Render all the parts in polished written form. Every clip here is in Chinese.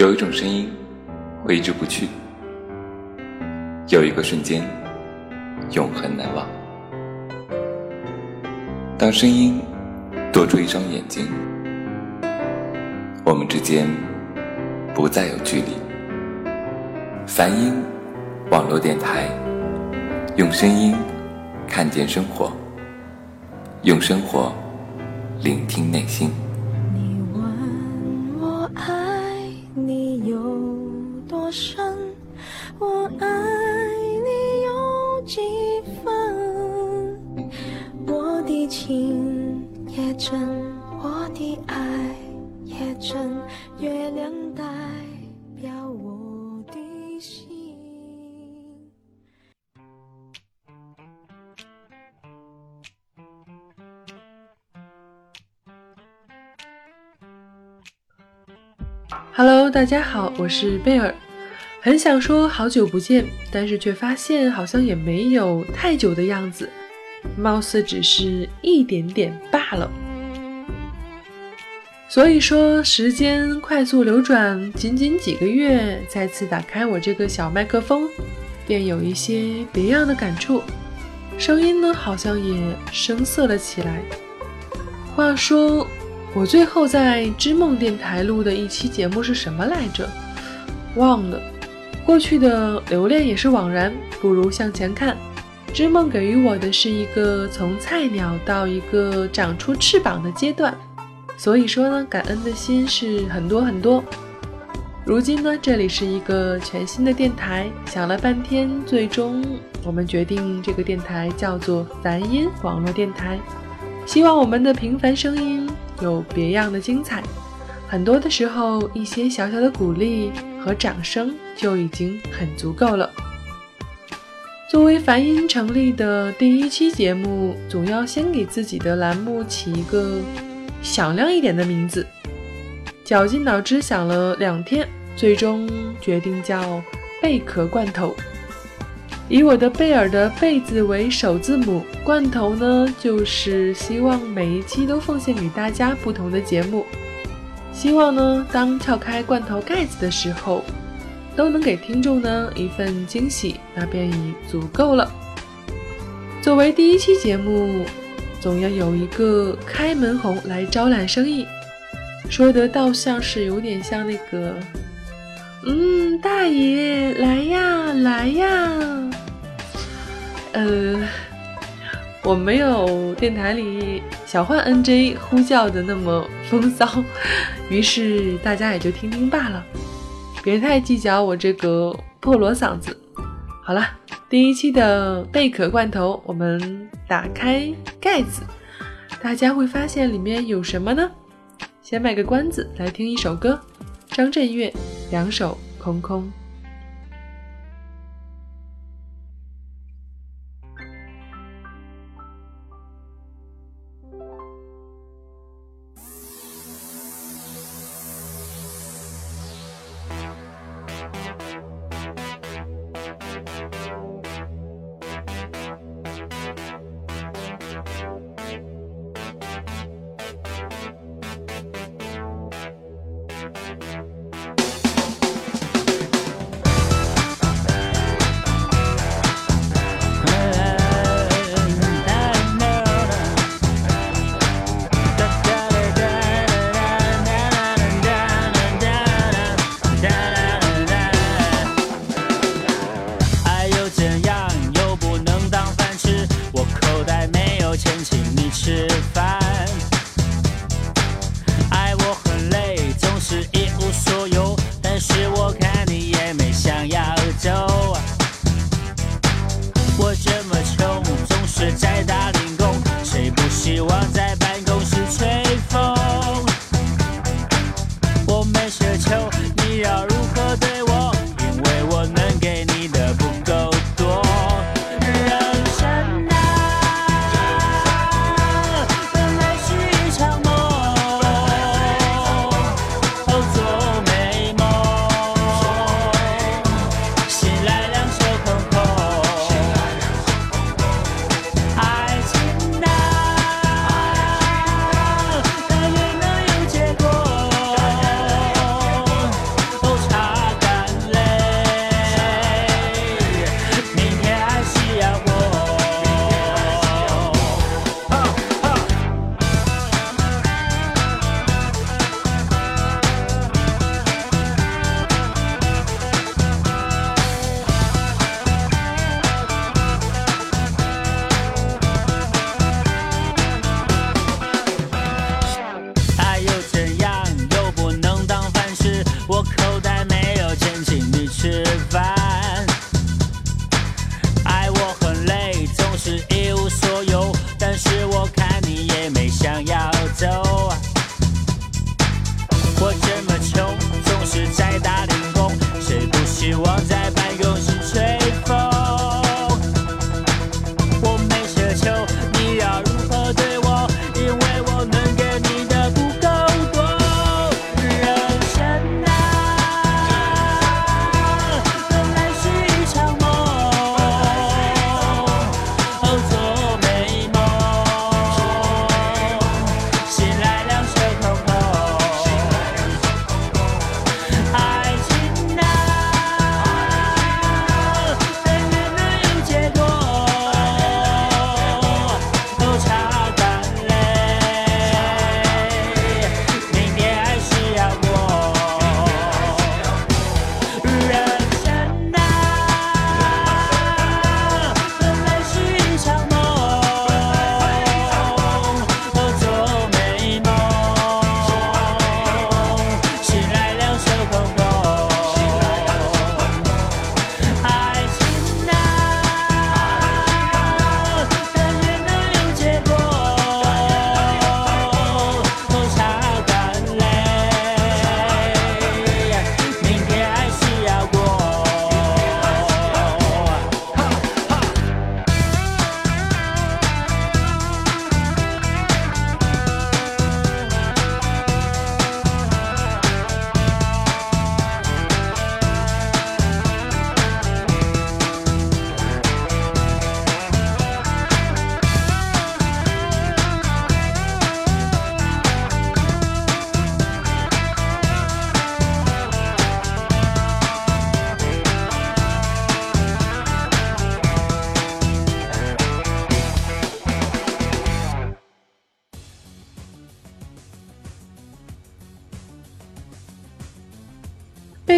有一种声音挥之不去，有一个瞬间永恒难忘。当声音多出一双眼睛，我们之间不再有距离。梵音网络电台，用声音看见生活，用生活聆听内心。 你问我爱你有多深，我爱你有几分，我的情也真，我的爱也真，月亮代表我的心。 Hello， 大家好，我是贝尔。很想说好久不见，但是却发现好像也没有太久的样子，貌似只是一点点罢了。所以说时间快速流转，仅仅几个月，再次打开我这个小麦克风，便有一些别样的感触，声音呢好像也生涩了起来。话说我最后在知梦电台录的一期节目是什么来着？忘了。过去的留恋也是枉然，不如向前看。知梦给予我的是一个从菜鸟到一个长出翅膀的阶段，所以说呢，感恩的心是很多很多。如今呢，这里是一个全新的电台，想了半天，最终我们决定这个电台叫做梵音网络电台。希望我们的平凡声音有别样的精彩，很多的时候一些小小的鼓励和掌声就已经很足够了。作为梵音成立的第一期节目，总要先给自己的栏目起一个响亮一点的名字，绞尽脑汁想了2天，最终决定叫贝壳罐头。以我的贝尔的贝字为首字母，罐头呢就是希望每一期都奉献给大家不同的节目，希望呢当撬开罐头盖子的时候，都能给听众呢一份惊喜，那便已足够了。作为第一期节目，总要有一个开门红来招揽生意，说得倒像是有点像那个大爷来呀来呀。我没有电台里小幻 NJ 呼叫的那么风骚，于是大家也就听听罢了，别太计较我这个破锣嗓子。好了，第一期的贝壳罐头，我们打开盖子，大家会发现里面有什么呢？先卖个关子，来听一首歌，张震岳两手空空。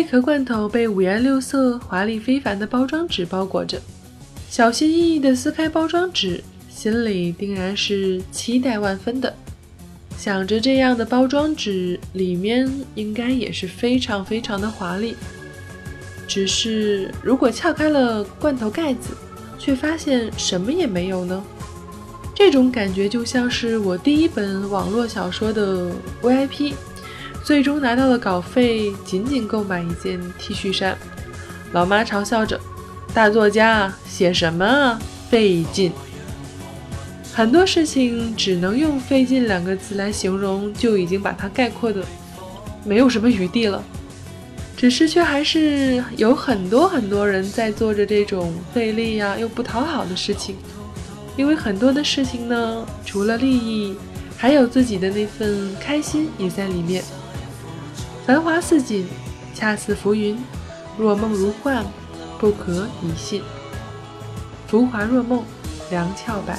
贝壳罐头被五颜六色、华丽非凡的包装纸包裹着，小心翼翼地撕开包装纸，心里定然是期待万分的。想着这样的包装纸里面应该也是非常非常的华丽，只是如果撬开了罐头盖子，却发现什么也没有呢？这种感觉就像是我第一本网络小说的 VIP， 最终拿到了稿费，仅仅购买一件 T 恤衫。老妈嘲笑着，大作家写什么啊，费劲。很多事情只能用费劲2个字来形容，就已经把它概括的没有什么余地了。只是却还是有很多人在做着这种费力啊又不讨好的事情，因为很多的事情呢，除了利益，还有自己的那份开心也在里面。繁华似锦，恰似浮云，若梦如幻，不可以信。浮华若梦，梁翘柏。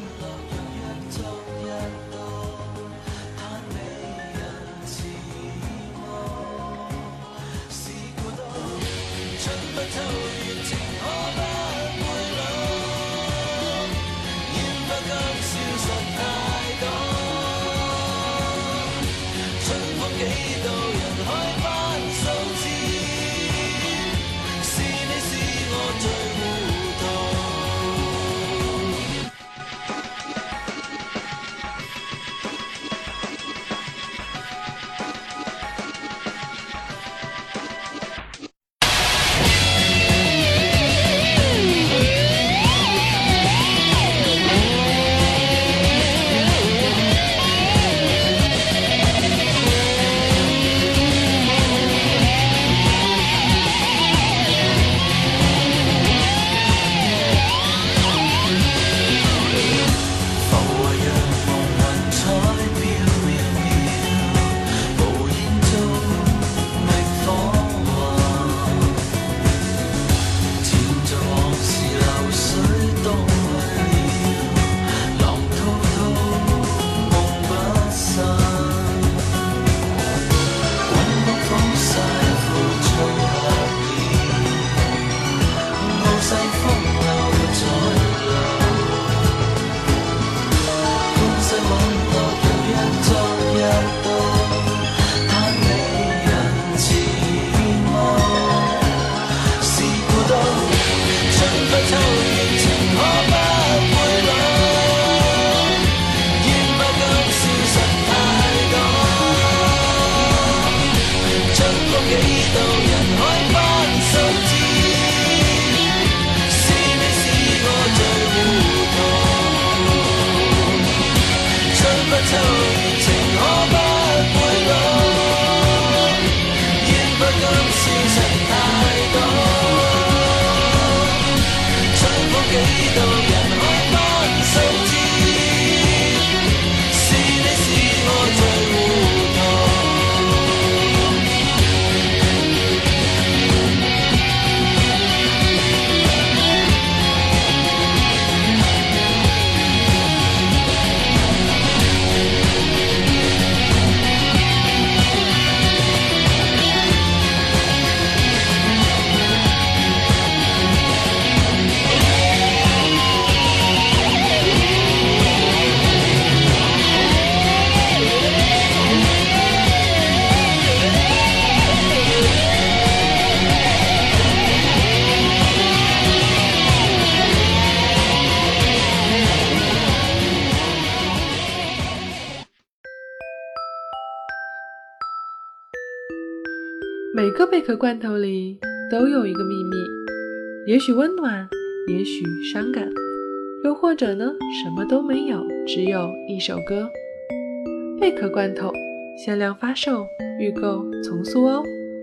每个贝壳罐头里都有一个秘密，也许温暖，也许伤感，又或者呢，什么都没有，只有一首歌。贝壳罐头限量发售，预购从速哦。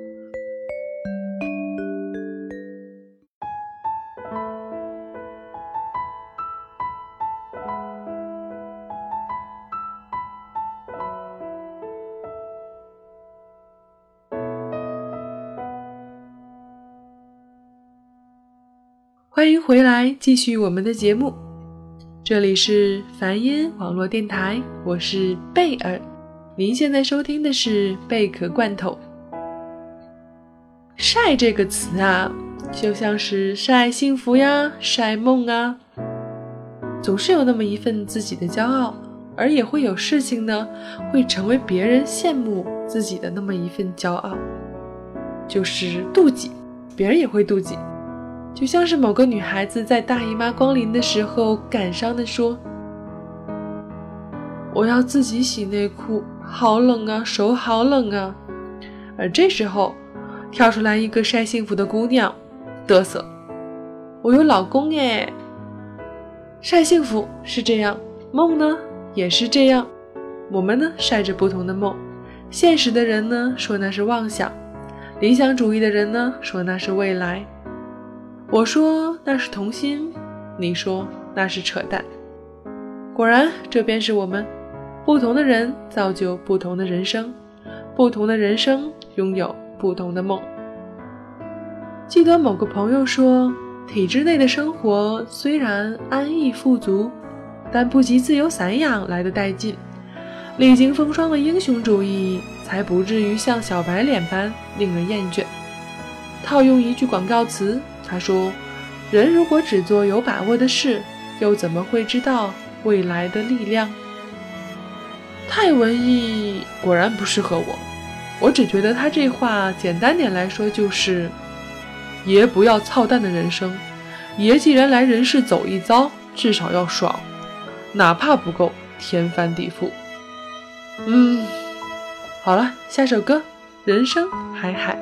欢迎回来，继续我们的节目。这里是梵音网络电台，我是贝尔。您现在收听的是贝壳罐头。 晒这个词啊，就像是晒幸福呀，晒梦啊，总是有那么一份自己的骄傲，而也会有事情呢，会成为别人羡慕自己的那么一份骄傲，就是妒忌，别人也会妒忌。就像是某个女孩子在大姨妈光临的时候感伤地说，我要自己洗内裤，好冷啊，手好冷啊。而这时候跳出来一个晒幸福的姑娘嘚瑟，我有老公耶。晒幸福是这样，梦呢也是这样，我们呢晒着不同的梦，现实的人呢说那是妄想，理想主义的人呢说那是未来，我说那是童心，你说那是扯淡。果然这便是我们，不同的人造就不同的人生，不同的人生拥有不同的梦。记得某个朋友说，体制内的生活虽然安逸富足，但不及自由散养来的带劲，历经风霜的英雄主义才不至于像小白脸般令人厌倦。套用一句广告词，他说，人如果只做有把握的事，又怎么会知道未来的力量？太文艺果然不适合我只觉得他这话简单点来说就是，爷不要操蛋的人生，爷既然来人世走一遭，至少要爽，哪怕不够天翻地覆。好了，下首歌，人生海海。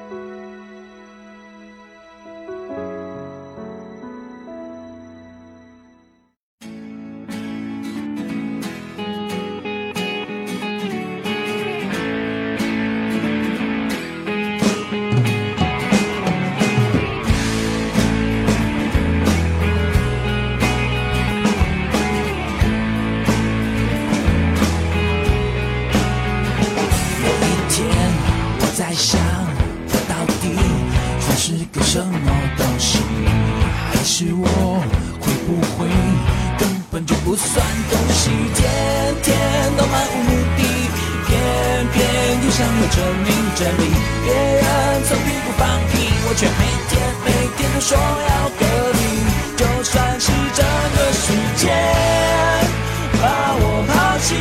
什么东西，还是我会不会根本就不算东西，天天都漫无目的，偏偏又想要证明真理，别人从屁股放屁，我却每天都说要隔离，就算是整个世界把我抛弃，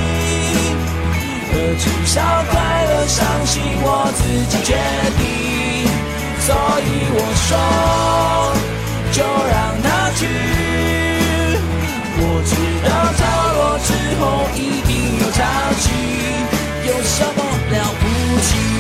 至少快乐伤心我自己决定，所以我说就让它去，我知道着落之后一定有潮起，有什么了不起，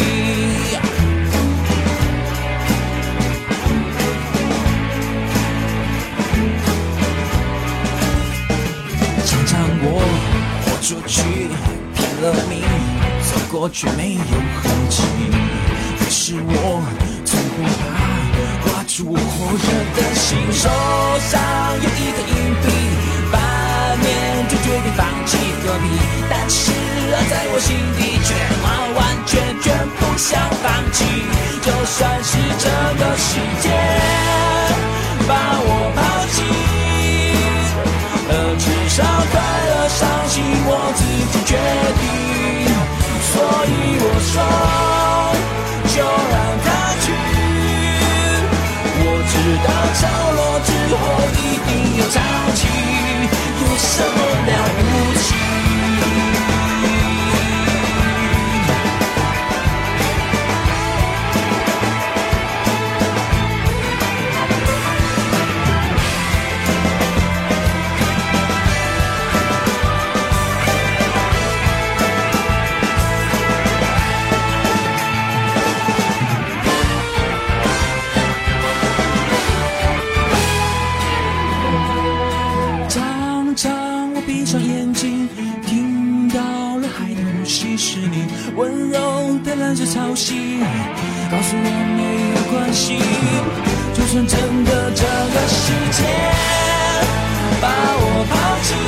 常常我豁出去拼了命，走过却没有痕迹，可是我从不怕挂住我火热的心，手上有一个硬币，反面就决定放弃隔壁，但是在我心底却完完全全不想放弃，就算是整个世界把我抛弃，至少快乐伤心我自己决定，所以我说就让它去，我知道潮落之后一定有潮起，有什么了不起，温柔的蓝色潮汐，告诉我没有关系，就算真的这个世界把我抛弃，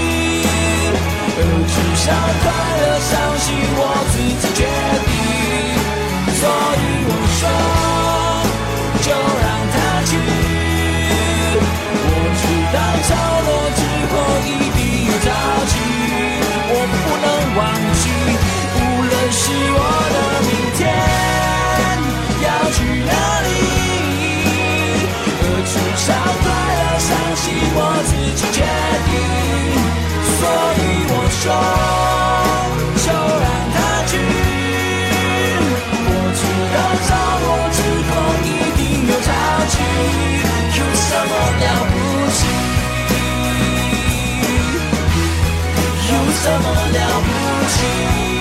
至少快乐伤心我自己决定，所以我说就让它去，我知道潮落之后一定有潮起，我不能忘记，是我的明天， 少对了，相信我自己决定，所以我说就让它去。我知道找我之后一定有交集，有什么了不起？有什么了不起？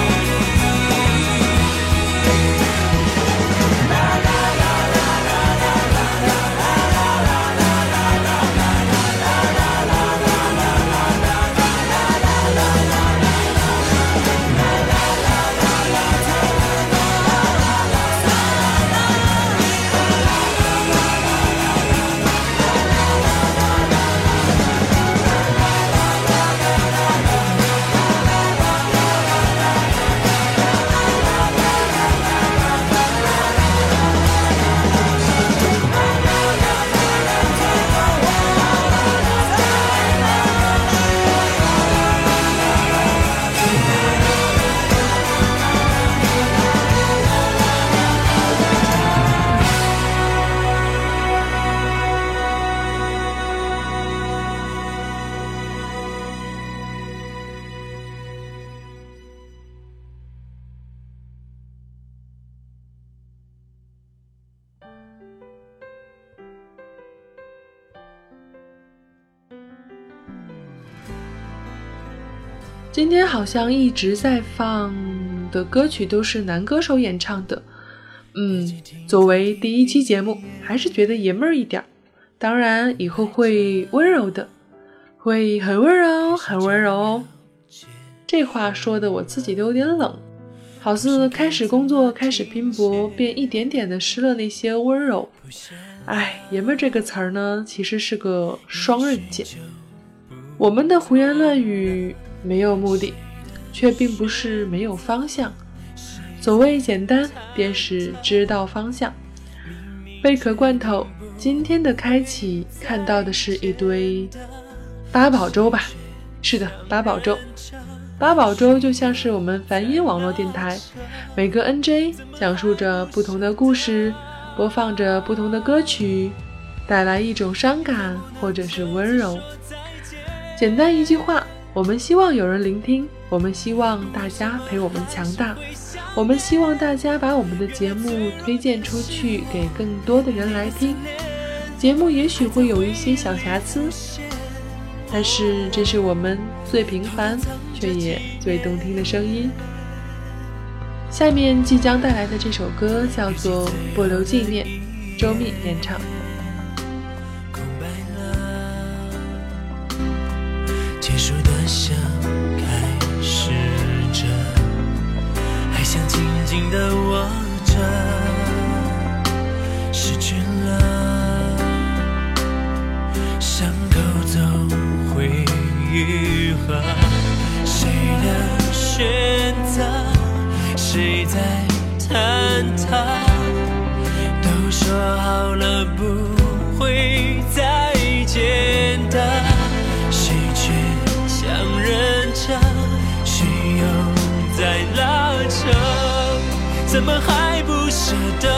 今天好像一直在放的歌曲都是男歌手演唱的，作为第一期节目，还是觉得爷们儿一点，当然以后会温柔的，会很温柔，很温柔哦。这话说的我自己都有点冷，好似开始工作，开始拼搏，便一点点的失了那些温柔。爷们儿这个词儿呢，其实是个双刃剑。我们的胡言乱语没有目的，却并不是没有方向。所谓简单，便是知道方向。贝壳罐头今天的开启看到的是一堆八宝粥吧？是的，八宝粥。八宝粥就像是我们梵音网络电台，每个 NJ 讲述着不同的故事，播放着不同的歌曲，带来一种伤感或者是温柔。简单一句话，我们希望有人聆听，我们希望大家陪我们强大，我们希望大家把我们的节目推荐出去，给更多的人来听。节目也许会有一些小瑕疵，但是这是我们最平凡却也最动听的声音。下面即将带来的这首歌叫做《不留纪念》，周密演唱。 结束的像开始着，还想紧紧地握着，失去了伤口总会愈合。谁的选择，谁在探讨，都说好了不会再见的，谁却强忍着，谁又在拉扯，怎么还不舍得？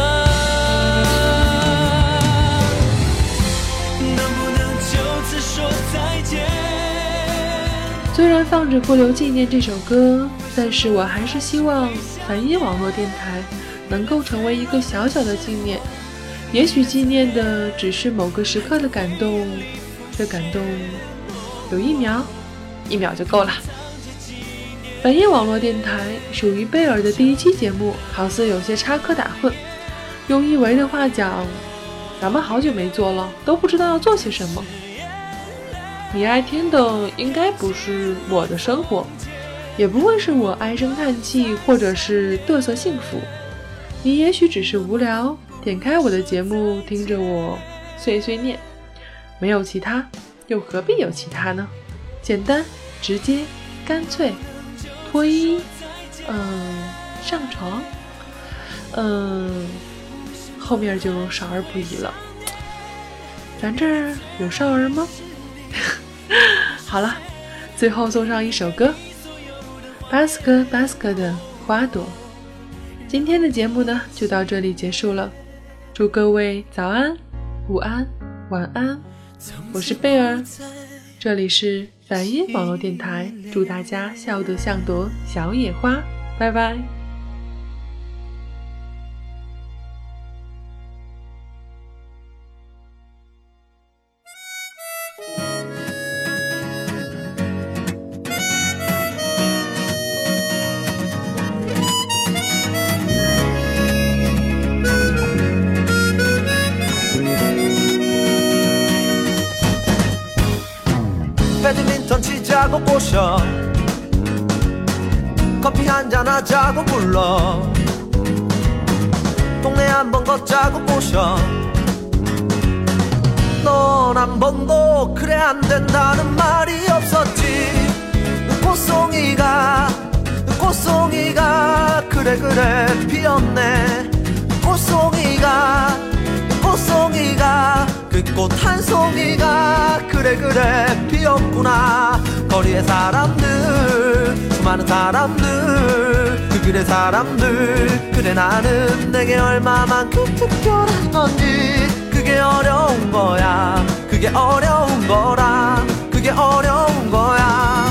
能不能就此说再见？ 虽然放着《不留纪念》这首歌，但是我还是希望梵音网络电台能够成为一个小小的纪念。也许纪念的只是某个时刻的感动，这感动有1秒就够了。梵音网络电台属于贝尔的第一期节目，好似有些插科打诨。用一维的话讲，咱们好久没做了，都不知道要做些什么。你爱听的应该不是我的生活，也不会是我唉声叹气或者是嘚瑟幸福。你也许只是无聊，点开我的节目听着我碎碎念，没有其他，又何必有其他呢？简单直接干脆，脱衣上床后面就少儿不宜了。咱这儿有少儿吗？好了，最后送上一首歌，巴斯克的花朵。今天的节目呢就到这里结束了，祝各位早安、午安、 晚安。我是贝儿，这里是梵音网络电台，祝大家笑得像朵小野花，拜拜。 배드민턴 치자고 꼬셔 커피 한잔 하자고 불러 동네 한번 걷자고 꼬셔 넌 한 번도 그래 안 된다는 말이 없었지 꽃송이가 그래 피었네 꽃송이가 그 꽃 한 송이가 그래 피었구나 거리의 사람들 수많은 사람들 그 길의 사람들 그래 나는 내게 얼마만큼 특별한 건지 그게 어려운 거야 그게 어려운 거라 그게 어려운 거야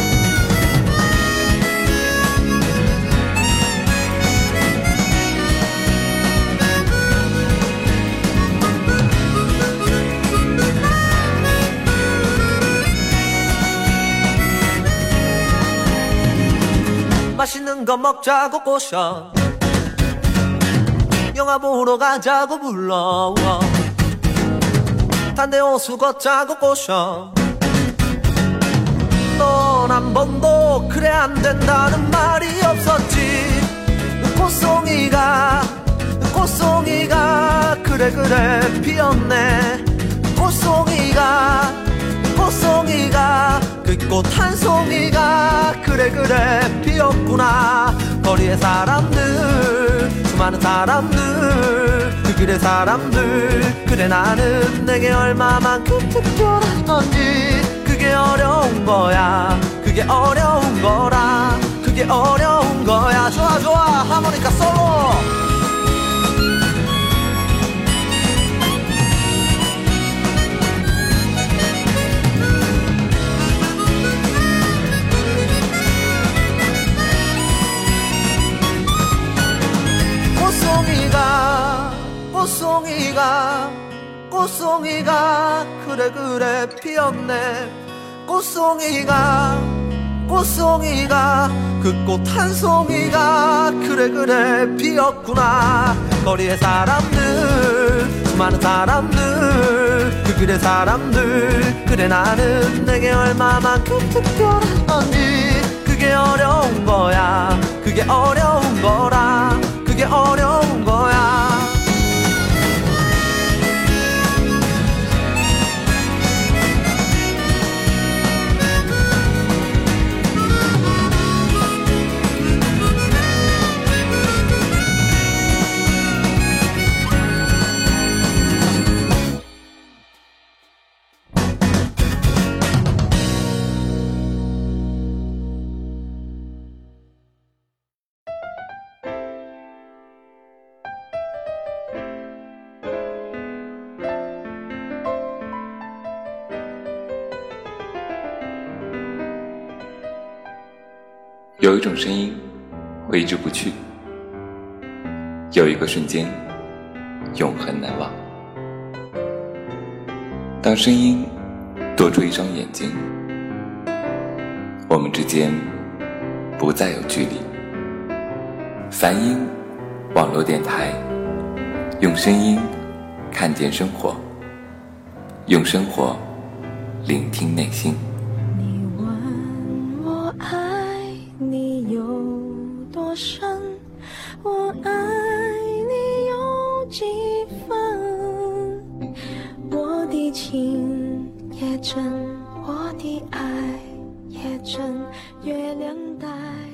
맛있는 거 먹자고 꼬셔 영화 보러 가자고 불러 단대 호수 걷자고 꼬셔 넌 한 번도 그래 안 된다는 말이 없었지 꽃송이가 그래 피었네 꽃송이가 그 꽃 한 송이가 그래 피었구나 거리의 사람들 수많은 사람들 그 길의 사람들 그래 나는 내게 얼마만큼 특별한 건지 그게 어려운 거야 그게 어려운 거라 그게 어려운 거야 좋아 하모니카 솔로 꽃송이가 그래 피었네 꽃송이가 그 꽃 한 송이가 그래 피었구나 거리의 사람들 수많은 사람들 그 길의 사람들 그래 나는 내게 얼마만큼 특별한 건지 그게 어려운 거야 그게 어려운 거라 그게 어려운 거야 有一种声音挥之不去，有一个瞬间永恒难忘。当声音多出一双眼睛，我们之间不再有距离。梵音网络电台，用声音看见生活，用生活聆听内心。 你问我爱你有多深，我爱你有几分？我的情也真，我的爱也真，月亮代